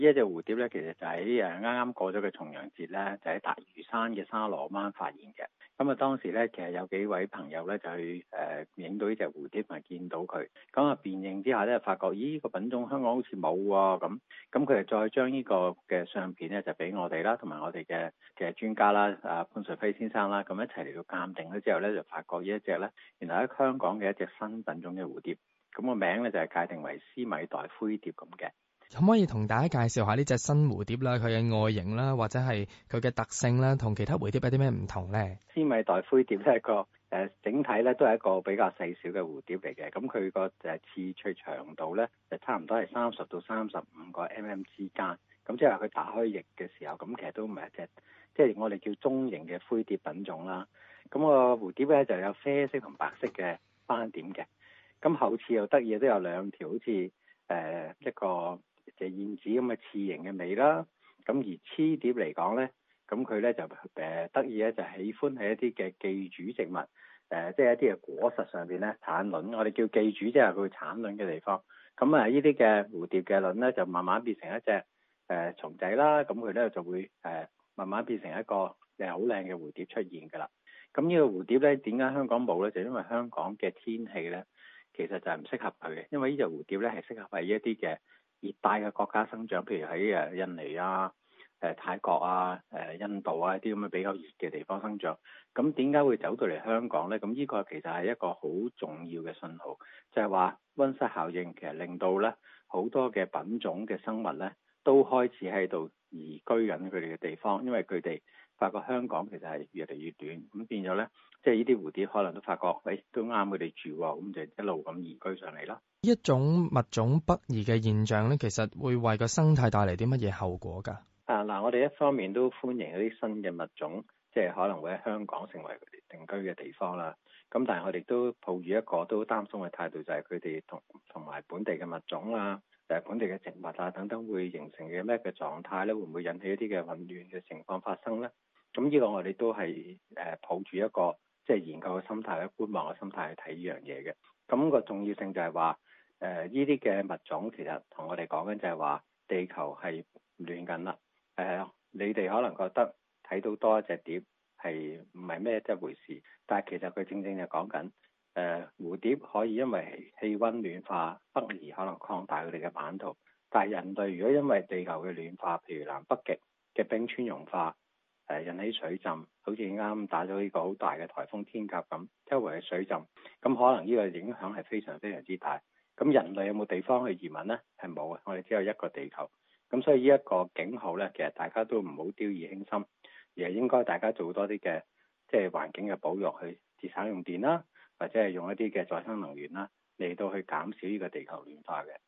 呢一隻蝴蝶咧，其實就喺啱啱過咗嘅重陽節咧，就喺大嶼山嘅沙螺灣發現嘅。咁啊，當時咧，其實有幾位朋友咧就去影到呢隻蝴蝶，同埋見到佢。咁啊，辨認之下咧，發覺咦，呢個品種香港好似冇喎。咁佢哋再將呢個嘅相片咧，就俾我哋啦，同埋我哋嘅專家啦，潘瑞輝先生啦，咁一齊嚟到鑑定咗之後咧，就發覺呢一隻咧，原來喺香港嘅一隻新品種嘅蝴蝶。咁個名咧就係界定為斯米代灰蝶咁嘅。 可唔可以同大家介紹下呢隻新蝴蝶啦，佢嘅外形啦，或者係佢嘅特性啦，同其他蝴蝶有啲咩唔同咧？ 斯米代灰蝶咧，整體咧都係一個比較細小嘅蝴蝶嚟嘅。咁佢個翅最長度咧就差唔多係30到35個 mm 之間。咁即係話佢打開翼嘅時候，咁其實都唔係一隻，即係我哋叫中型嘅灰蝶品種啦。咁個蝴蝶咧就有啡色同白色嘅斑點嘅。咁後翅又得意，都有兩條好似一個隻燕子咁嘅翅形嘅尾啦。咁而雌蝶嚟講咧，咁佢咧就得意咧，就喜歡喺一啲嘅寄主植物，即係一啲嘅果實上邊咧產卵。我哋叫寄主，即係佢產卵嘅地方。咁啊，呢啲嘅蝴蝶嘅卵咧，就慢慢變成一隻蟲仔啦。咁佢咧就會慢慢變成一個好靚嘅蝴蝶出現㗎啦。咁呢個蝴蝶咧，點解香港冇咧？就因為香港嘅天氣咧，其實就係唔適合佢嘅。因為呢隻蝴蝶咧係適合喺一啲嘅熱帶嘅國家生長，譬如喺印尼啊、泰國啊、印度啊啲咁嘅比較熱嘅地方生長。咁點解會走到嚟香港咧？咁呢個其實係一個好重要嘅信號，就係話溫室效應其實令到咧好多嘅品種嘅生物咧都開始喺度移居緊佢哋嘅地方，因為佢哋發覺香港其實係越嚟越短，咁變咗咧，即係呢啲蝴蝶可能都發覺，都啱佢哋住喎，咁就一路咁移居上嚟啦。 一種物種北移嘅現象咧，其實會為個生態帶嚟啲乜嘢後果㗎？ 嗱，我哋一方面都歡迎一啲新嘅物種，即係可能會喺香港成為佢哋定居嘅地方啦。咁但係我哋都抱住一個都擔心嘅態度，就係佢哋同埋本地嘅物種啊、本地嘅植物啊等等，會形成嘅咩嘅狀態咧？會唔會引起一啲嘅混亂嘅情況發生咧？咁呢個我哋都係抱住一個即係研究嘅心態、觀望嘅心態去睇呢樣嘢嘅。咁個重要性就係話，呢啲嘅物種其實同我哋講緊就係話，地球係亂緊啦。你哋可能覺得睇到多一隻蝶係唔係咩一回事，但係其實佢正正就講緊蝴蝶可以因為氣温暖化北移，可能擴大佢哋嘅版圖。但係人類如果因為地球嘅暖化，譬如南北極嘅冰川融化，引起水浸，好似啱打咗呢個好大嘅颱風天鴿咁，周圍嘅水浸，咁可能呢個影響係非常非常之大。咁人類有冇地方去移民呢？係冇嘅，我哋只有一個地球。咁所以呢一個警號咧，其實大家都唔好掉以輕心，而係應該大家做多啲嘅即係環境嘅保育，去節省用電啦，或者係用一啲嘅再生能源啦，嚟到去減少呢個地球暖化嘅。